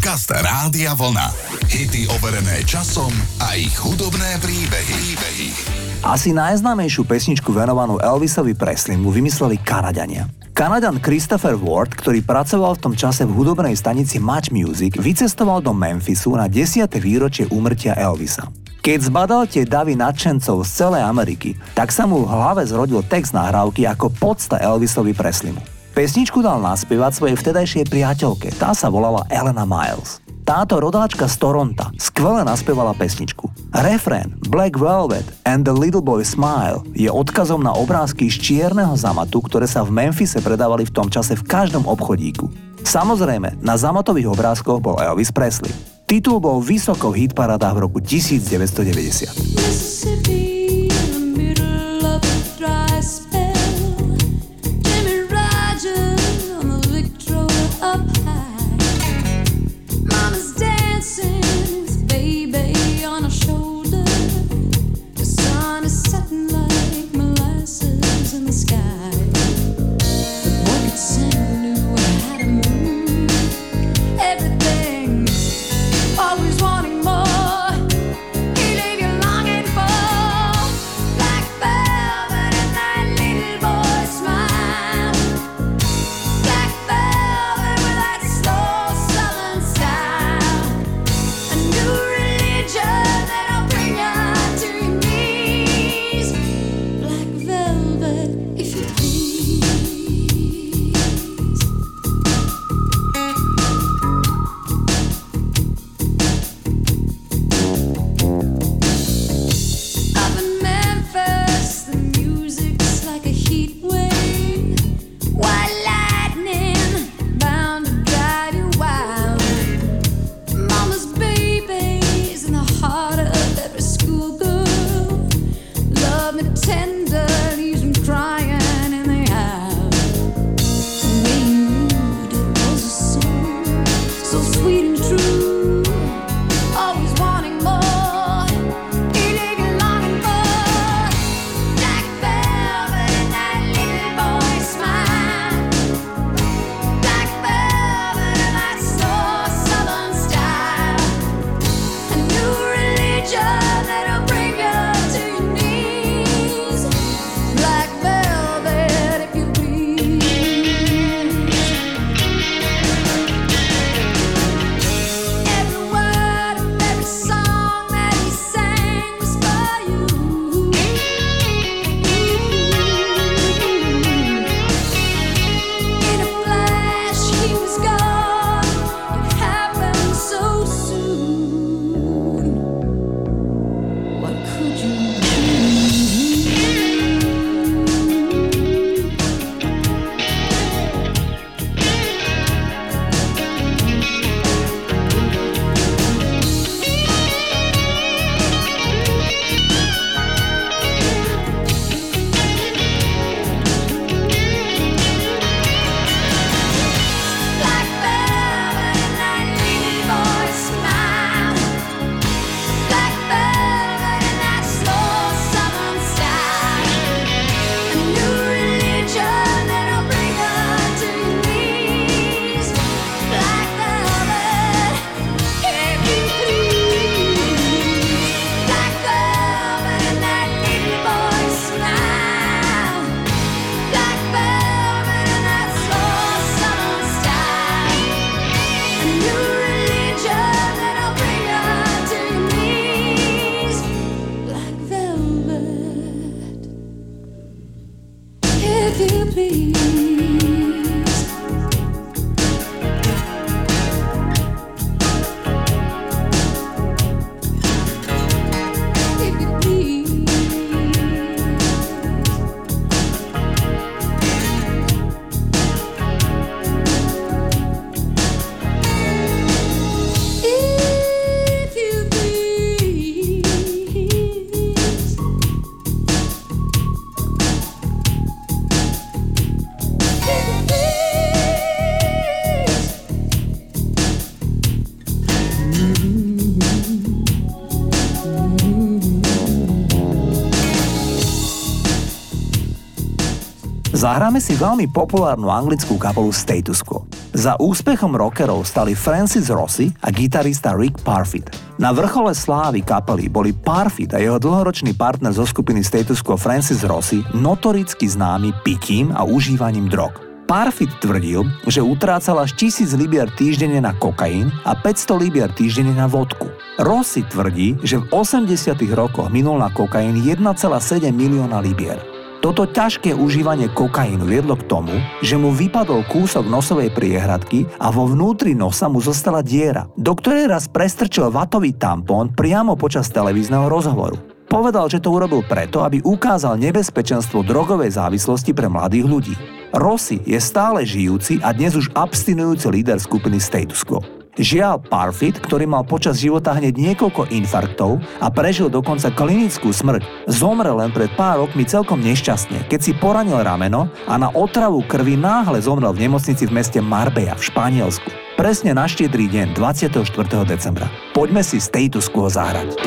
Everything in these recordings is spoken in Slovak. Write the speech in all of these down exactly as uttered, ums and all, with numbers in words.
Podcast Rádia Vlna. Hity overené časom a ich hudobné príbehy. príbehy. Asi najznámejšiu pesničku venovanú Elvisovi Presleymu vymysleli Kanaďania. Kanaďan Christopher Ward, ktorý pracoval v tom čase v hudobnej stanici Much Music, vycestoval do Memphisu na desiate výročie úmrtia Elvisa. Keď zbadal tie davy nadšencov z celej Ameriky, tak sa mu v hlave zrodil text nahrávky ako podsta Elvisovi Presleymu. Pesničku dal naspievať svojej vtedajšej priateľke, tá sa volala Elena Miles. Táto rodáčka z Toronta skvele naspievala pesničku. Refrén Black Velvet and the Little Boy Smile je odkazom na obrázky z čierneho zamatu, ktoré sa v Memphise predávali v tom čase v každom obchodíku. Samozrejme, na zamatových obrázkoch bol Elvis Presley. Titul bol vysoko v hitparádách v roku devätnásťstodeväťdesiat. Zahráme si veľmi populárnu anglickú kapelu Status Quo. Za úspechom rockerov stali Francis Rossi a gitarista Rick Parfitt. Na vrchole slávy kapely boli Parfitt a jeho dlhoročný partner zo skupiny Status Quo Francis Rossi notoricky známy pitím a užívaním drog. Parfitt tvrdil, že utrácal až tisíc libier týždenne na kokain a päťsto libier týždenne na vodku. Rossi tvrdí, že v osemdesiatych rokoch minul na kokain jeden celá sedem milióna libier. Toto ťažké užívanie kokainu viedlo k tomu, že mu vypadol kúsok nosovej priehradky a vo vnútri nosa mu zostala diera, do ktorej raz prestrčil vatový tampón priamo počas televízneho rozhovoru. Povedal, že to urobil preto, aby ukázal nebezpečenstvo drogovej závislosti pre mladých ľudí. Rossi je stále žijúci a dnes už abstinujúci líder skupiny Status Quo. Žiaľ, Parfitt, ktorý mal počas života hneď niekoľko infarktov a prežil dokonca klinickú smrť, zomrel len pred pár rokmi celkom nešťastne, keď si poranil rameno a na otravu krvi náhle zomrel v nemocnici v meste Marbella v Španielsku. Presne na štiedry deň dvadsiateho štvrtého decembra. Poďme si Status Quo zahrať.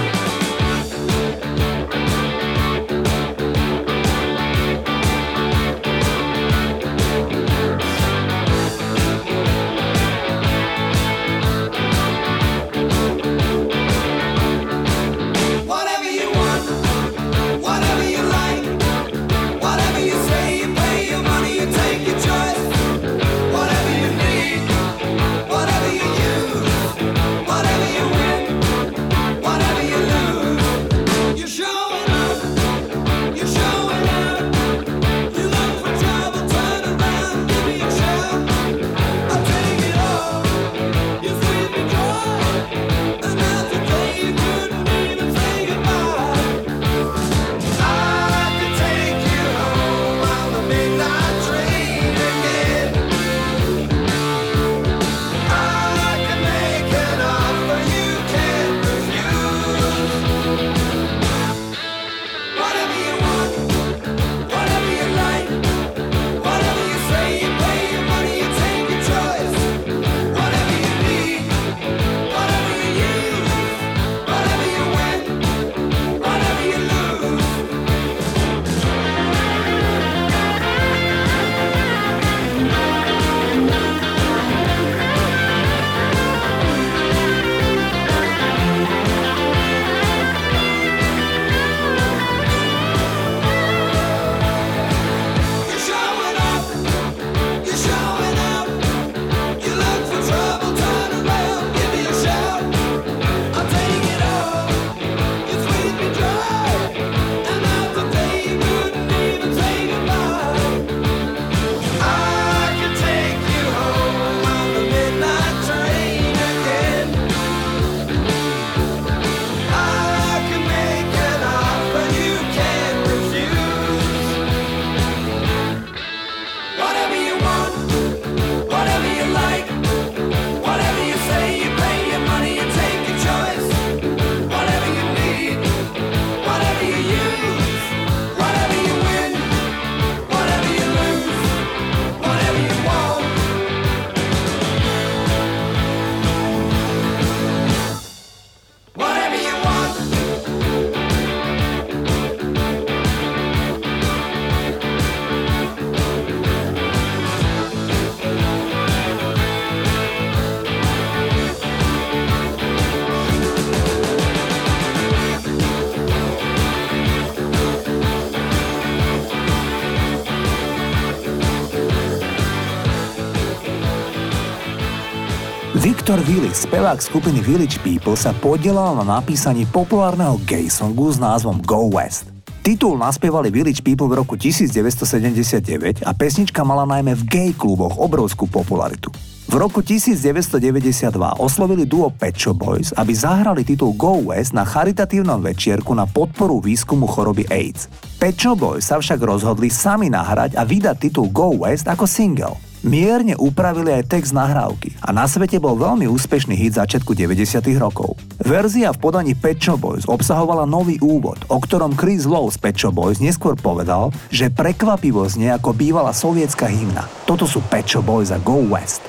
Victor Willis, spevák skupiny Village People, sa podielal na napísaní populárneho gay songu s názvom Go West. Titul naspievali Village People v roku devätnásťsedemdesiatdeväť a pesnička mala najmä v gay kluboch obrovskú popularitu. V roku devätnásťdeväťdesiatdva oslovili duo Pet Shop Boys, aby zahrali titul Go West na charitatívnom večierku na podporu výskumu choroby AIDS. Pet Shop Boys sa však rozhodli sami nahrať a vydať titul Go West ako single. Mierne upravili aj text nahrávky a na svete bol veľmi úspešný hit začiatku deväťdesiatych rokov. Verzia v podaní Pet Shop Boys obsahovala nový úvod, o ktorom Chris Lowe z Pet Shop Boys neskôr povedal, že prekvapivo znie ako bývalá sovietská hymna. Toto sú Pet Shop Boys a Go West.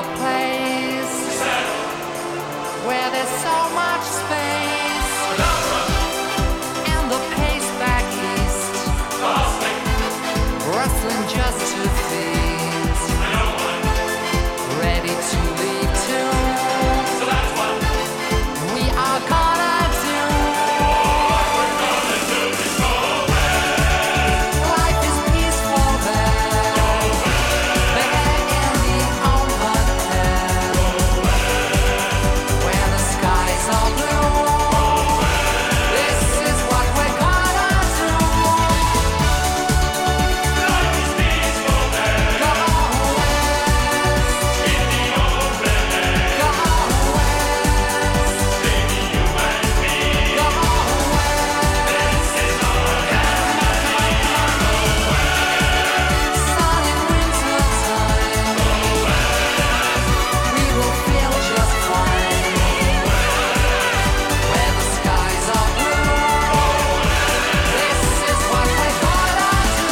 a place where there's so much space, and the pace back east, rustling just two feet, ready to leave too. So that's what we are gonna do. What we're gonna do is go west. Life is peaceful there. Go west. There in the open air. Go west. Where the skies are blue. Go west. This is what we're gonna do. Life is peaceful there. Go west. In the open air. Go west. Baby, you and me. Go west. This is our time. Go west. Sun in winter time. Go west. We will feel just fine. Go west. Where the skies are blue. Go west. This is what we're gonna do.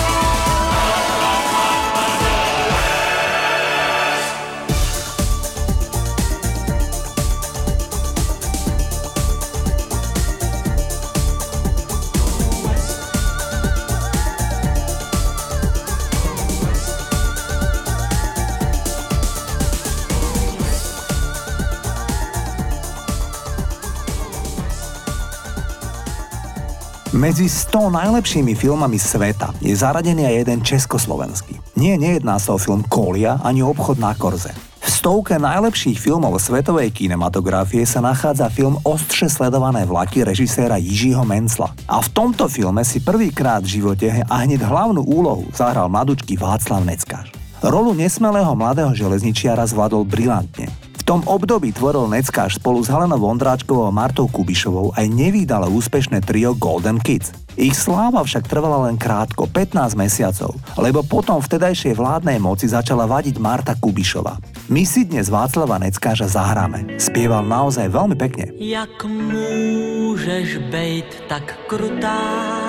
Medzi sto najlepšími filmami sveta je zaradený aj jeden československý. Nie, nejedná sa o film Kolia ani Obchod na Korze. V stovke najlepších filmov svetovej kinematografie sa nachádza film Ostře sledované vlaky režiséra Jiřího Mencla. A v tomto filme si prvýkrát v živote a hneď hlavnú úlohu zahral mladučký Václav Neckář. Rolu nesmelého mladého železničiara zvládol brilantne. V tom období tvoril Neckář spolu s Helenou Vondráčkovou a Martou Kubišovou aj nevídale úspešné trio Golden Kids. Ich sláva však trvala len krátko, pätnásť mesiacov, lebo potom vtedajšej vládnej moci začala vadiť Marta Kubišová. My si dnes Václava Neckářa zahráme. Spieval naozaj veľmi pekne. Jak můžeš bejt tak krutá,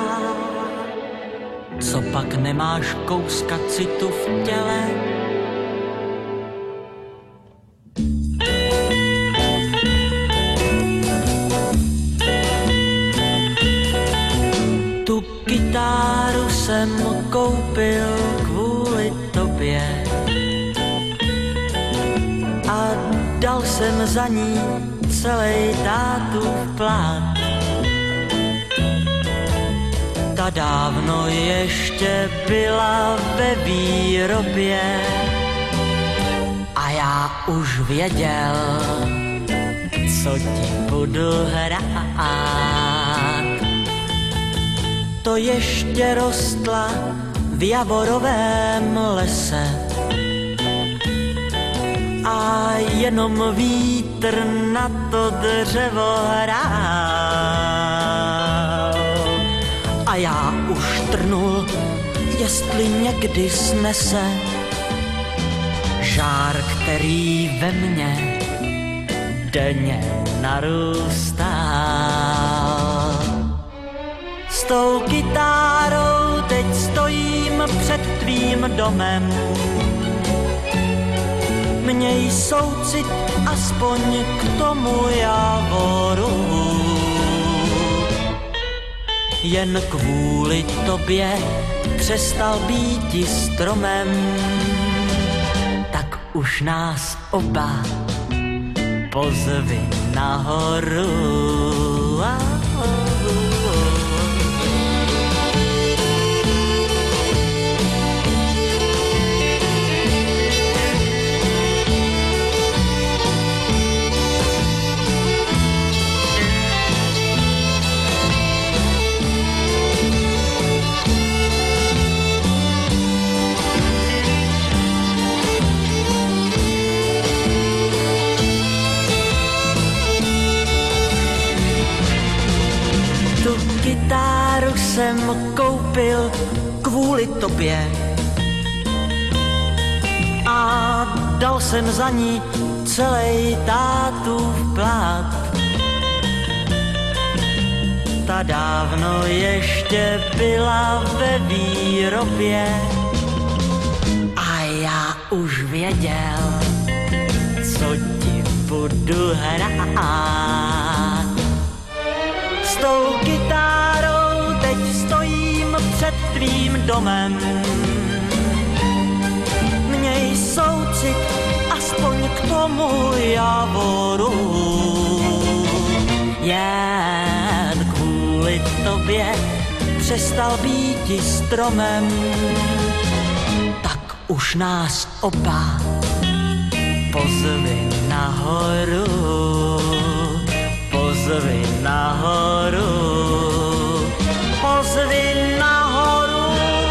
co pak nemáš kouska citu v těle? Tu kytáru jsem koupil kvůli tobě a dal jsem za ní celej tátův plát. Ta dávno ještě byla ve výrobě a já už věděl, co ti budu hrát. To ještě rostla v javorovém lese a jenom vítr na to dřevo hrál. A já už trnul, jestli někdy snese žár, který ve mně denně narůstá. S tou kytárou teď stojím před tvým domem. Měj soucit aspoň k tomu javoru. Jen kvůli tobě přestal býti stromem, tak už nás oba pozvi nahoru. Kytáru jsem koupil kvůli tobě a dal jsem za ní celej tátův plát. Ta dávno ještě byla ve výrobě a já už věděl, co ti budu hrát. S tou kytárou teď stojím před tvým domem. Měj soucit aspoň k tomu javoru. Jen kvůli tobě přestal býti stromem. Tak už nás oba pozvi nahoru, pozvi nahoru, pozvi nahoru.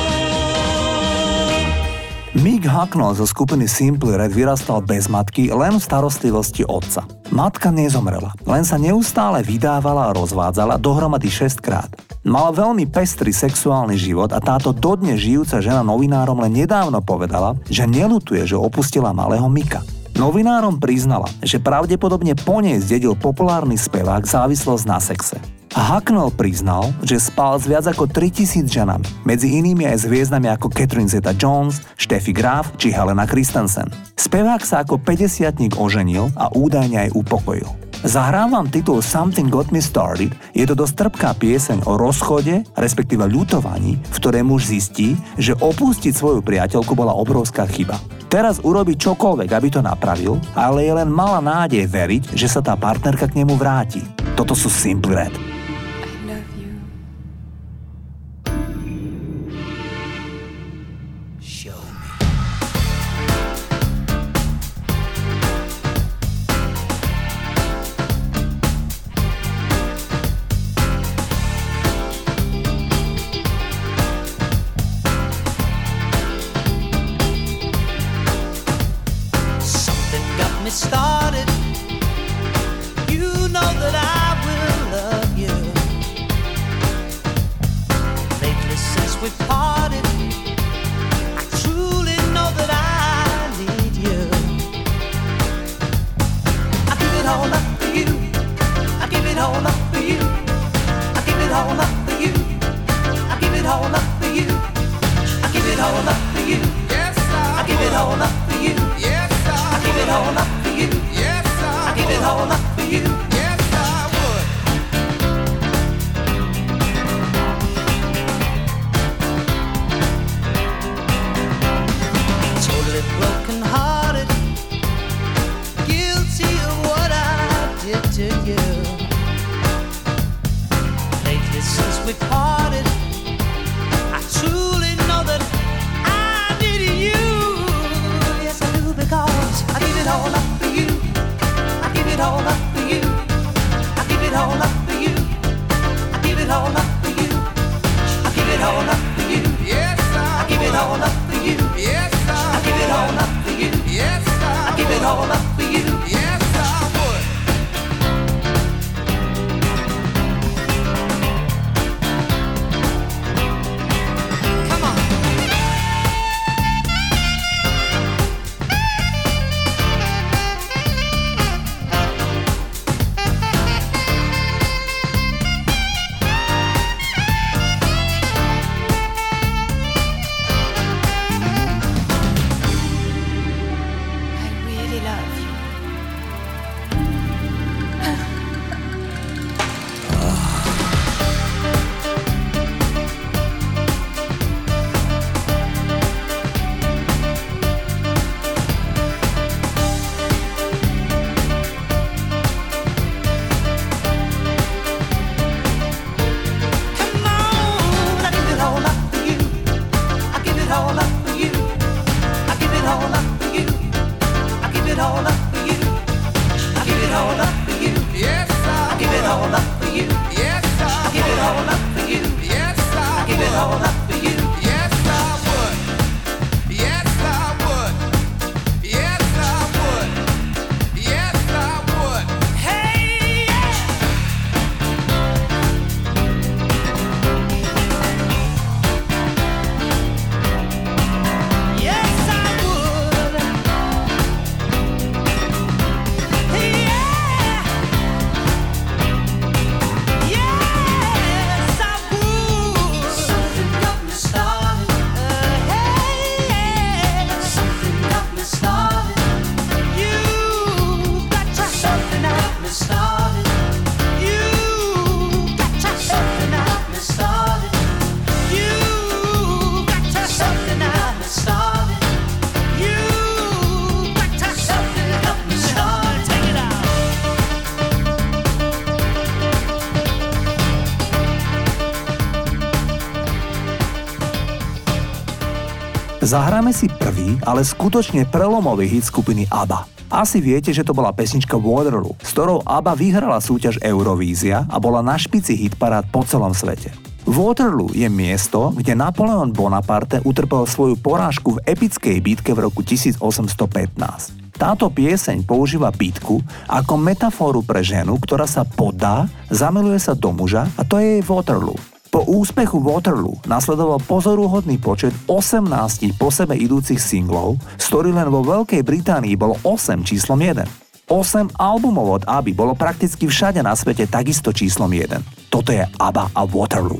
Mick Hucknall zo skupiny Simply Red vyrastal bez matky len v starostlivosti otca. Matka nezomrela, len sa neustále vydávala a rozvádzala dohromady šesťkrát. Mala veľmi pestrý sexuálny život a táto dodnes žijúca žena novinárom len nedávno povedala, že neľutuje, že opustila malého Micka. Novinárom priznala, že pravdepodobne po nej zdedil populárny spevák závislosť na sexe. A Hucknall priznal, že spal s viac ako tritisíc ženami, medzi inými aj s hviezdami ako Catherine Zeta-Jones, Steffi Graf či Helena Christensen. Spevák sa ako päťdesiatnik oženil a údajne aj upokojil. Zahrám vám titul Something Got Me Started, je to dosť trpká pieseň o rozchode, respektíve ľutovaní, v ktorej muž zistí, že opustiť svoju priateľku bola obrovská chyba. Teraz urobí čokoľvek, aby to napravil, ale je len malá nádej veriť, že sa tá partnerka k nemu vráti. Toto sú Simply Red. Started, you know that I will love you. Lately since we parted, I truly know that I need you. I give it all up for you. I give it all up for you. I give it all up for you. I give it all up for you. I give it all up for you. Yes, I, I give it all up for you. Yes, I, I give it all up. Yes, I, I give it all up for you. Yes, I would. Totally broken-hearted, guilty of what I did to you. Lately since we parted, I truly know that I need you. Yes, I do, because I give it all up. I give it all up for you. I give it all up for you. I give it all up for you. I give it all up for you. Yes, I, I give it all up for you. Yes, I, I give it all up for you. Yes, I, I give it all up for you. Yes, I would. Zahráme si prvý, ale skutočne prelomový hit skupiny ABBA. Asi viete, že to bola pesnička Waterloo, s ktorou ABBA vyhrala súťaž Eurovízia a bola na špici hitparád po celom svete. Waterloo je miesto, kde Napoleon Bonaparte utrpel svoju porážku v epickej bitke v roku tisícosemstopätnásť. Táto pieseň používa bitku ako metafóru pre ženu, ktorá sa podá, zamiluje sa do muža a to je jej Waterloo. Po úspechu Waterloo nasledoval pozoruhodný počet osemnásť po sebe idúcich singlov, z ktorých len vo Veľkej Británii bolo osem číslom jeden. osem albumov od ABBY bolo prakticky všade na svete takisto číslom jeden. Toto je ABBA a Waterloo.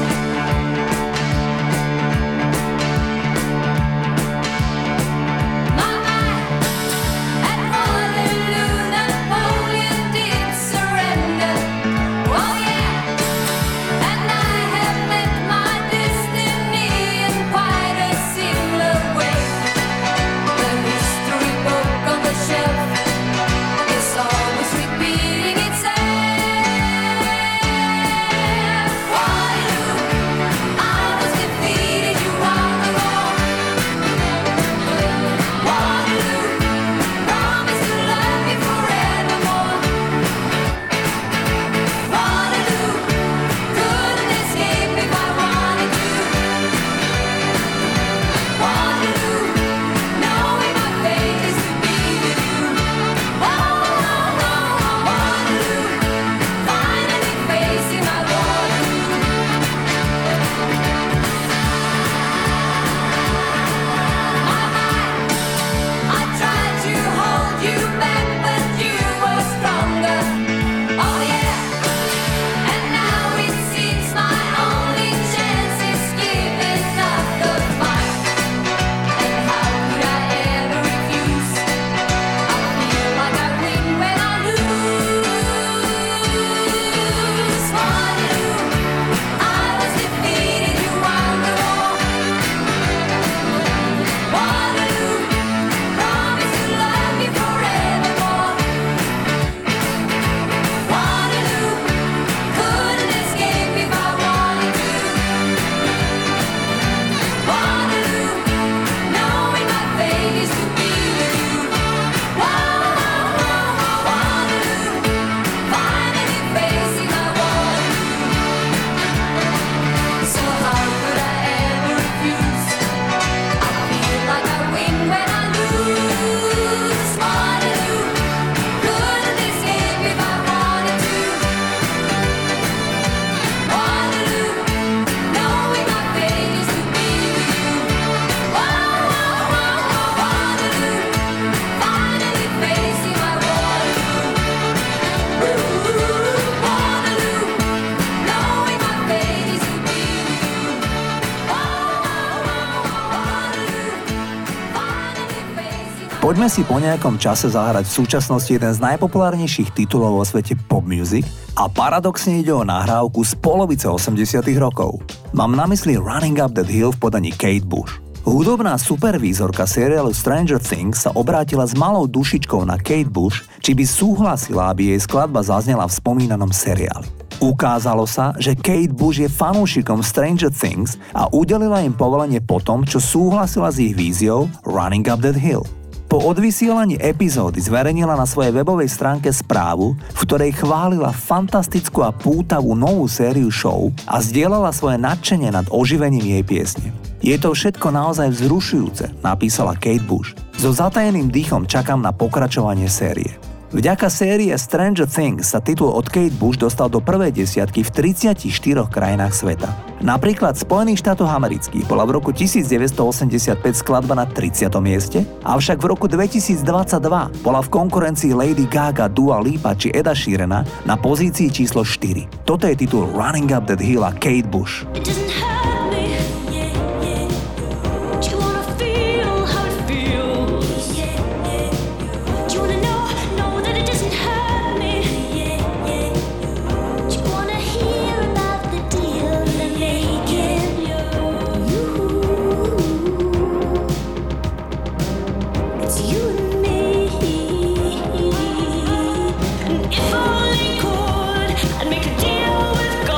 Poďme si po nejakom čase zahrať v súčasnosti jeden z najpopulárnejších titulov vo svete pop music a paradoxne ide o nahrávku z polovice osemdesiatych rokov. Mám na mysli Running Up That Hill v podaní Kate Bush. Hudobná supervízorka seriálu Stranger Things sa obrátila s malou dušičkou na Kate Bush, či by súhlasila, aby jej skladba zaznela v spomínanom seriáli. Ukázalo sa, že Kate Bush je fanúšikom Stranger Things a udelila im povolenie po tom, čo súhlasila s ich víziou Running Up That Hill. Po odvysielaní epizódy zverejnila na svojej webovej stránke správu, v ktorej chválila fantastickú a pútavú novú sériu show a zdieľala svoje nadšenie nad oživením jej piesne. Je to všetko naozaj vzrušujúce, napísala Kate Bush. So zatajeným dýchom čakám na pokračovanie série. Vďaka série Stranger Things sa titul od Kate Bush dostal do prvej desiatky v tridsiatich štyroch krajinách sveta. Napríklad v Spojených štátoch amerických bola v roku devätnásťstoosemdesiatpäť skladba na tridsiatom mieste, avšak v roku dvetisícdvadsaťdva bola v konkurencii Lady Gaga, Dua Lipa či Eda Sheerana na pozícii číslo štyri. Toto je titul Running Up That Hill a Kate Bush.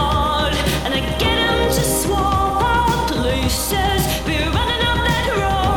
Be running up that road.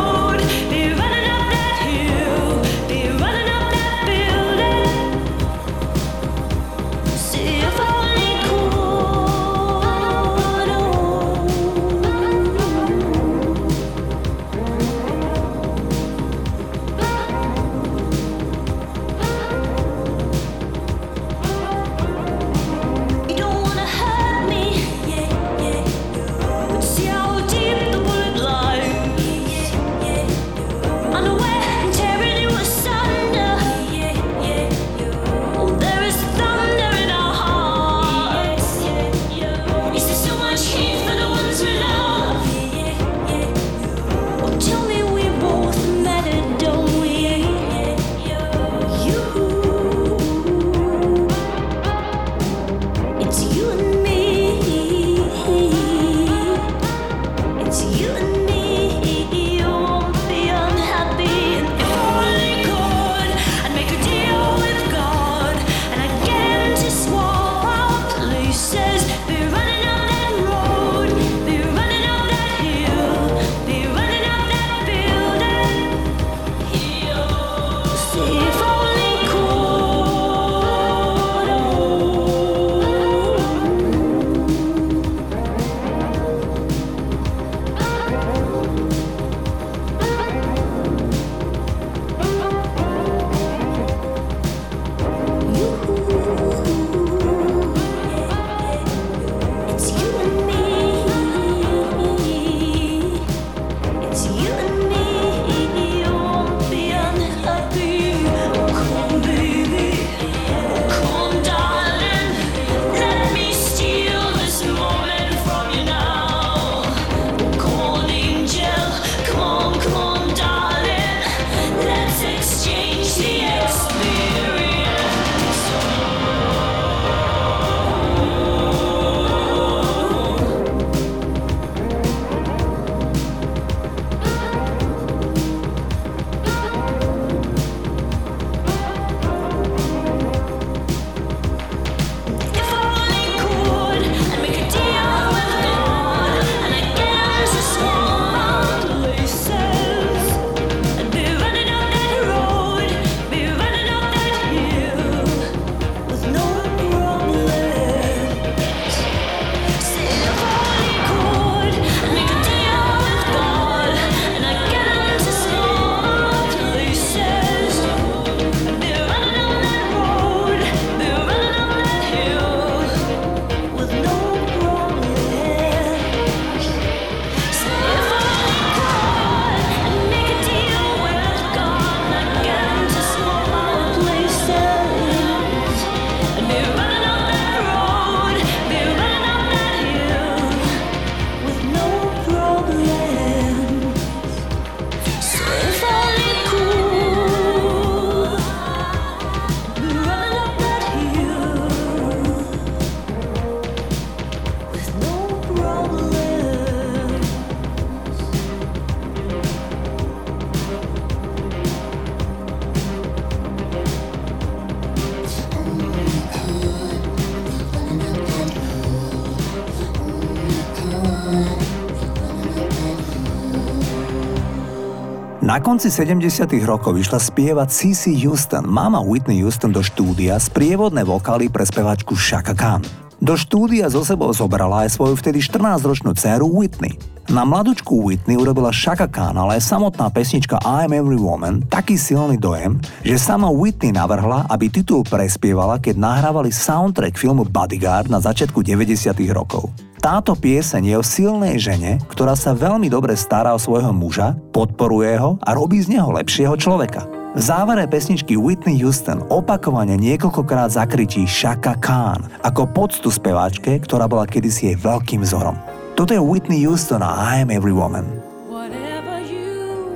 Na konci sedemdesiatych rokov vyšla spievať Cissy Houston, mama Whitney Houston, do štúdia sprievodné vokály pre speváčku Chaka Khan. Do štúdia so sebou zobrala aj svoju vtedy štrnásťročnú dcéru Whitney. Na mladučku Whitney urobila Chaka Khan, ale aj samotná pesnička I'm Every Woman taký silný dojem, že sama Whitney navrhla, aby titul prespievala, keď nahrávali soundtrack filmu Bodyguard na začiatku deväťdesiatych rokov. Táto pieseň je o silnej žene, ktorá sa veľmi dobre stará o svojho muža, podporuje ho a robí z neho lepšieho človeka. V závere pesničky Whitney Houston opakovane niekoľkokrát zakričí Chaka Khan ako poctu speváčke, ktorá bola kedysi jej veľkým vzorom. Toto je Whitney Houston a I Am Every Woman. Whatever you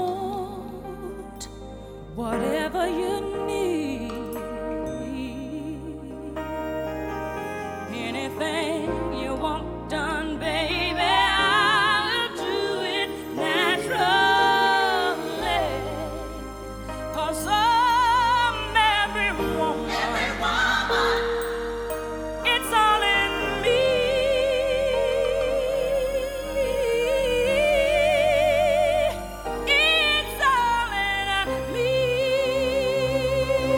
want, whatever you need, anything you want done, baby, I'll do it naturally. 'Cause I'm every woman, every woman. It's all in me. It's all in me.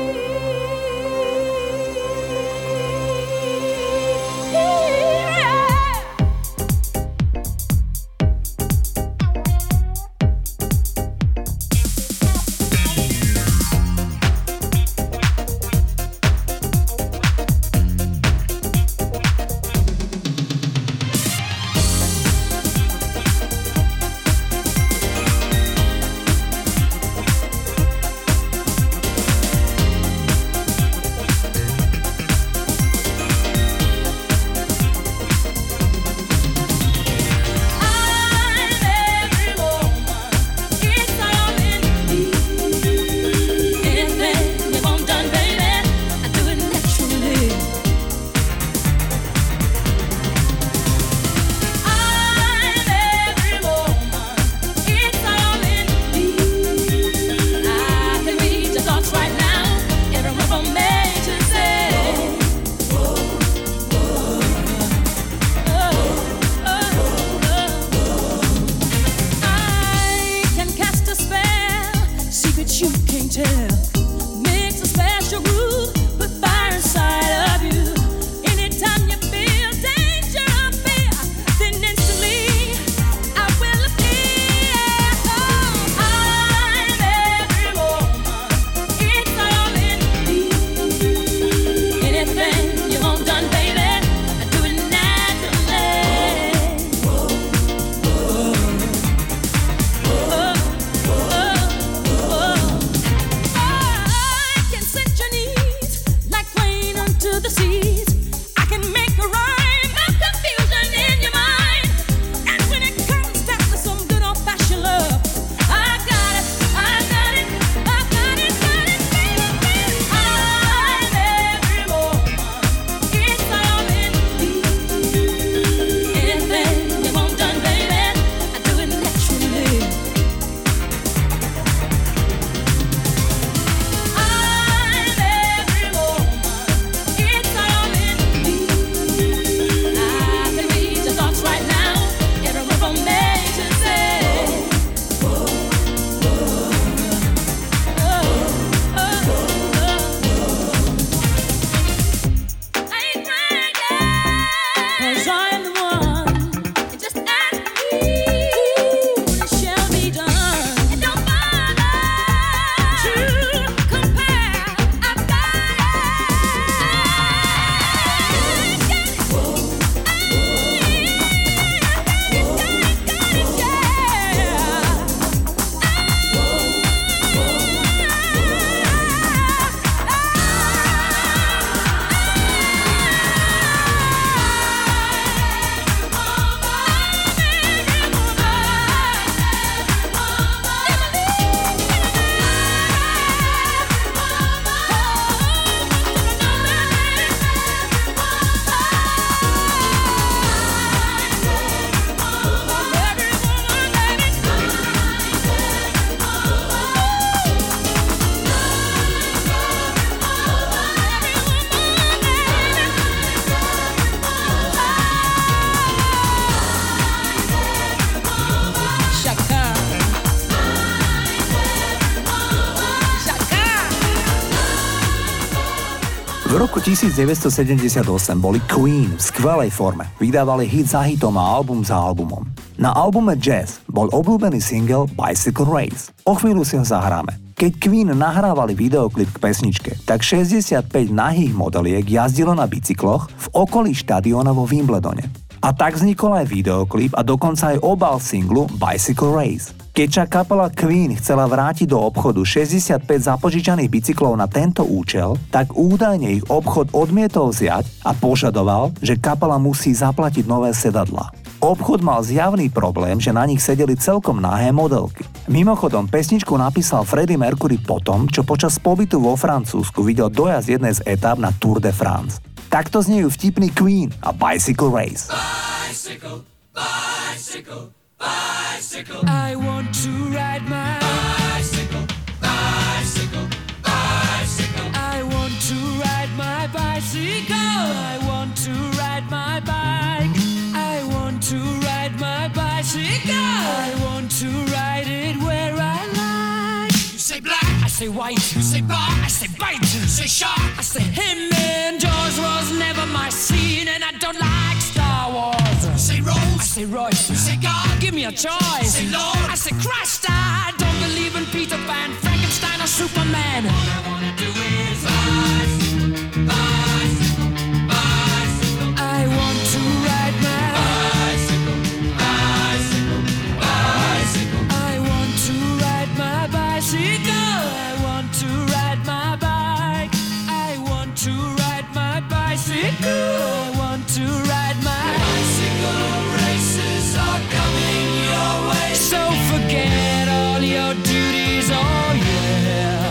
V roku devätnásťsedemdesiatosem boli Queen v skvelej forme. Vydávali hit za hitom a album za albumom. Na albume Jazz bol obľúbený single Bicycle Race. O chvíľu si ho zahráme. Keď Queen nahrávali videoklip k pesničke, tak šesťdesiatpäť nahých modeliek jazdilo na bicykloch v okolí štadióna vo Wimbledone. A tak vznikol aj videoklip a dokonca aj obal singlu Bicycle Race. Keď však kapela Queen chcela vrátiť do obchodu šesťdesiatpäť zapožičaných bicyklov na tento účel, tak údajne ich obchod odmietol vziať a požadoval, že kapela musí zaplatiť nové sedadlá. Obchod mal zjavný problém, že na nich sedeli celkom nahé modelky. Mimochodom, pesničku napísal Freddie Mercury potom, čo počas pobytu vo Francúzsku videl dojazd jednej z etáp na Tour de France. Takto znejú vtipný Queen a Bicycle Race. Bicycle, bicycle, bicycle. I want to ride my Bicycle, bicycle, bicycle. I want to ride my bicycle. I want to ride my bike. I want to ride my bicycle. I want to ride it where I like. You say black, I say white. you say bar, I say bite. you say shark. I say him and Jaws was never my scene, and I don't like Star Wars. You say I Rose, say Royce. you say God. Give me a choice. Say Lord. I say Christ. I don't believe in Peter Pan, Frankenstein, or Superman. All I wanna do is bicycle, bicycle, bicycle. I want to ride my. Bicycle, bicycle, bicycle. I want to ride my bicycle. I want to ride my bike. I want to ride my bicycle. I want to ride my Bicycle races are coming your way. So forget all your duties, oh yeah.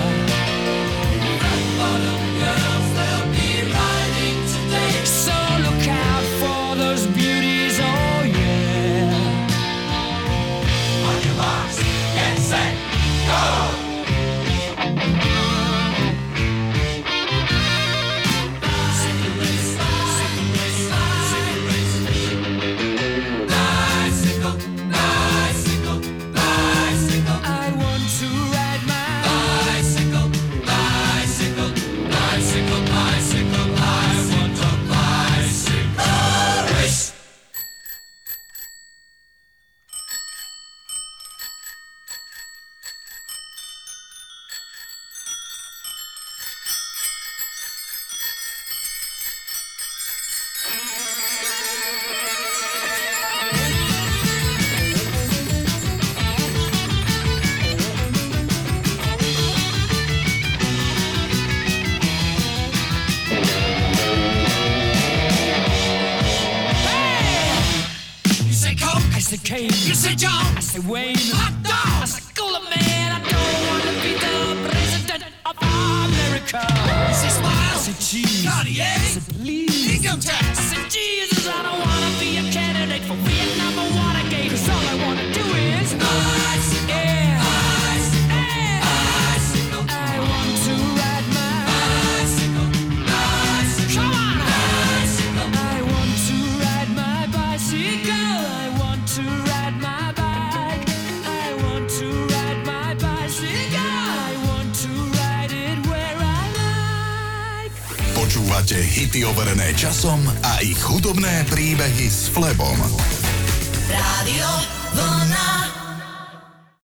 Red bottom girls, they'll be riding today. So look out for those beauties, oh yeah. On your marks, get set, go! Bicycle race, bicycle race, bicycle race. Bicycle, bicycle, bicycle. I want to ride my. Bicycle, bicycle, bicycle, bicycle. I want a bicycle race. You say Coke, I say Kane. you say John, I say Wayne. hot I dog. say Cooler Man. I don't want to be the president of America. You say Smile, I say cheese. Cartier, I say please. income I tax. said, Jesus, I don't wanna be a candidate for Vietnam or Watergate. 'Cause all I wanna do is Bicycle, yeah, bicycle, yeah. bicycle, I want to ride my. bicycle, bicycle, Come on. bicycle. I want to ride my bicycle. I want to ride my bike. I want to ride my bicycle. I want to ride it where I like. Počúvate hity overené časom a ich hudobné príbehy s Flebom. Rádio Vlna.